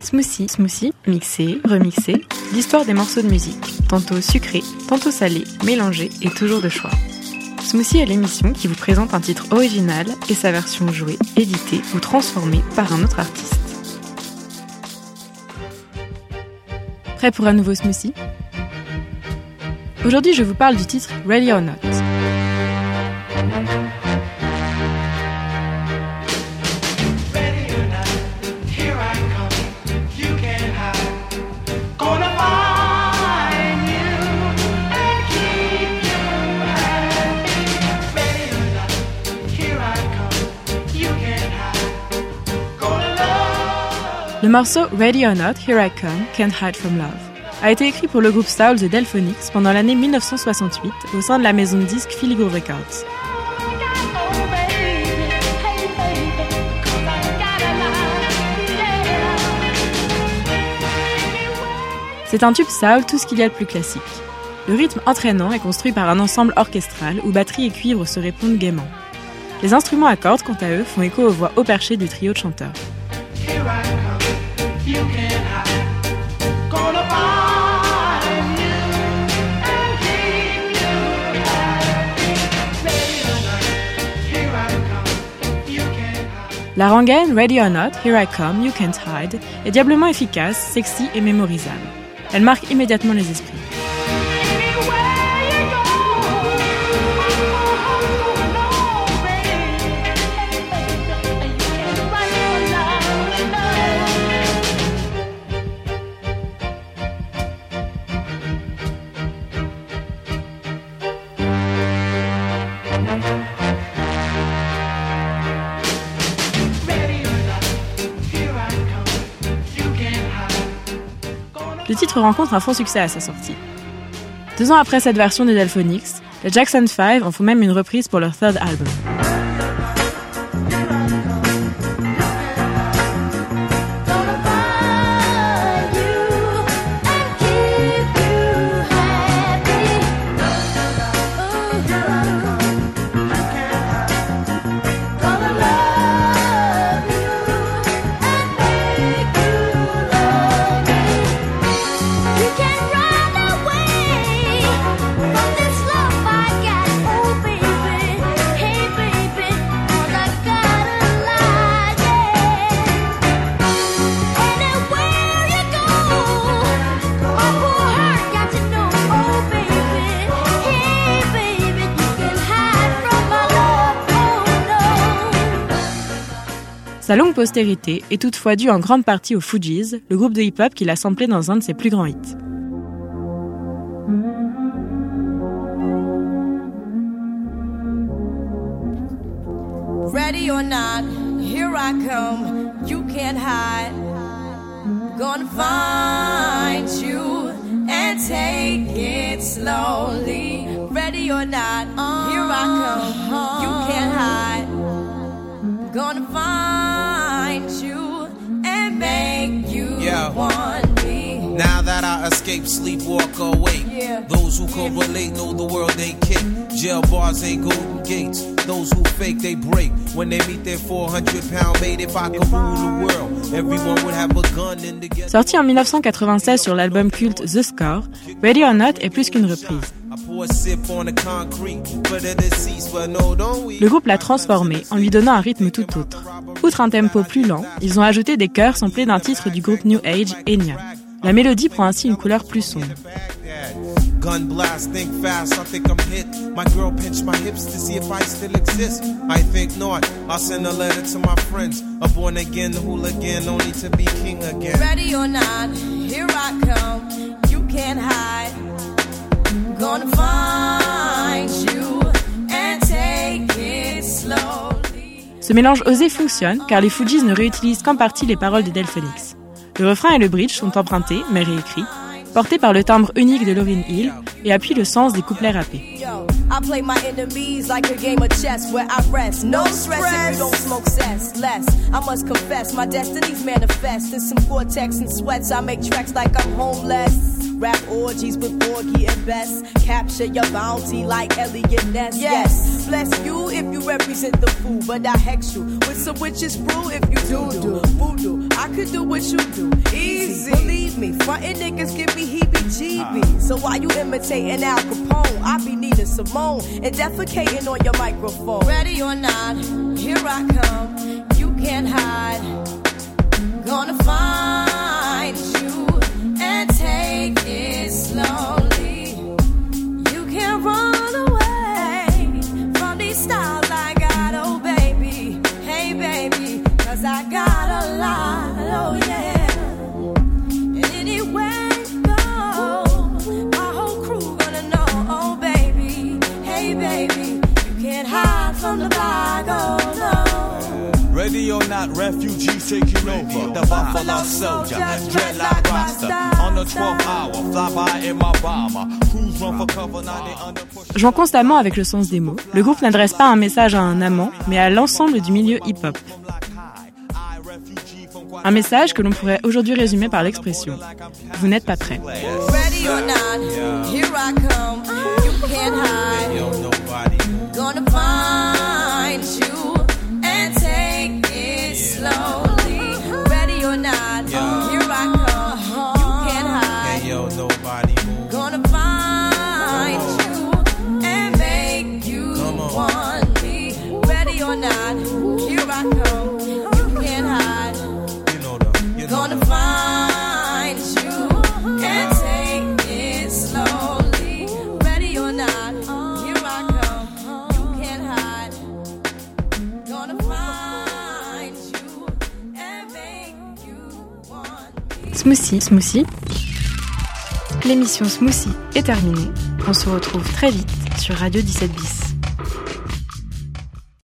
Smoothie, mixé, remixé, l'histoire des morceaux de musique, tantôt sucrés, tantôt salés, mélangés et toujours de choix. Smoothie est l'émission qui vous présente un titre original et sa version jouée, éditée ou transformée par un autre artiste. Prêt pour un nouveau smoothie ? Aujourd'hui, je vous parle du titre Ready or Not. Le morceau Ready or Not, Here I Come, Can't Hide From Love a été écrit pour le groupe soul The Delphonics pendant l'année 1968 au sein de la maison de disques Filigree Records. C'est un tube soul, tout ce qu'il y a de plus classique. Le rythme entraînant est construit par un ensemble orchestral où batterie et cuivre se répondent gaiement. Les instruments à cordes, quant à eux, font écho aux voix haut perchées du trio de chanteurs. La rengaine Ready or Not, Here I Come, You Can't Hide est diablement efficace, sexy et mémorisable. Elle marque immédiatement les esprits. Le titre rencontre un franc succès à sa sortie. 2 ans après cette version des Delphonics, les Jackson 5 en font même une reprise pour leur third album. Sa longue postérité est toutefois due en grande partie aux Fugees, le groupe de hip-hop qui l'a samplé dans un de ses plus grands hits. Ready or not, here I come, you can't hide. Gonna find you and take it slowly. Ready or not, here I come, you can't hide. Gonna find you and make you want me. Now that I escape, sleep, walk awake. Those who can relate know the world ain't kick. Jail bars ain't golden gates. Those who fake, they break. When they meet their 400-pound mate, if I could rule the world, everyone would have a gun in the ghetto. Sorti en 1996 sur l'album culte The Score, Ready or Not est plus qu'une reprise. Le groupe l'a transformé en lui donnant un rythme tout autre. Outre un tempo plus lent, ils ont ajouté des chœurs samplés d'un titre du groupe New Age, Enya. La mélodie prend ainsi une couleur plus sombre. Gun blast, think fast, I think I'm hit. My girl pinched my hips to see if I still exist. I think not, I'll send a letter to my friends. A born again hooligan, only to be king again. Ready or not, here I come, you can't hide. Gonna find you and take it slowly. Ce mélange osé fonctionne car les Fugees ne réutilisent qu'en partie les paroles des Delphonics. Le refrain et le bridge sont empruntés, mais réécrits, portés par le timbre unique de Lauryn Hill et appuient le sens des couplets rappés. I play my enemies like a game of chess where I rest. No stress if you don't smoke cess. Less, I must confess, my destinies manifest. In some Gore-Tex and sweats, I make tracks like I'm homeless. Rap orgies with Porgy and Bess. Capture your bounty like Elliot Ness. Yes, bless you if you represent the fool, but I hex you with some witches brew if you do voodoo. I could do what you do, easy. Believe me, frontin' niggas give me heebie-jeebies. So why you imitating Al Capone? I be needing Simone and defecating on your microphone. Ready or not, here I come. You can't hide. Gonna find you and take it slowly. You can't run away from these styles I got, oh baby. Hey baby, 'cause I got a lot, oh yeah. And anywhere you go, my whole crew gonna know, oh baby. Hey baby, you can't hide from the bag, oh no. Ready or not, refugees taking over. The Buffalo Soldier, dreadlock Rasta. On the 12th hour, fly by in my bomber. Crews run for cover, now they under push. Jouant constamment avec le sens des mots, le groupe n'adresse pas un message à un amant, mais à l'ensemble du milieu hip-hop. Un message que l'on pourrait aujourd'hui résumer par l'expression « Vous n'êtes pas prêts ». Ready or not, here I come. You can't hide. Gonna find you and take it slowly. Ready or not, here I come. You can't hide. Gonna find you and make you want me. Ready or not, here I come. You can't hide. Gonna find you and take it slowly. Ready or not, here I come. You can't hide. Gonna find you and make you want me. Smoothie. L'émission Smoothie est terminée. On se retrouve très vite sur Radio 17 bis.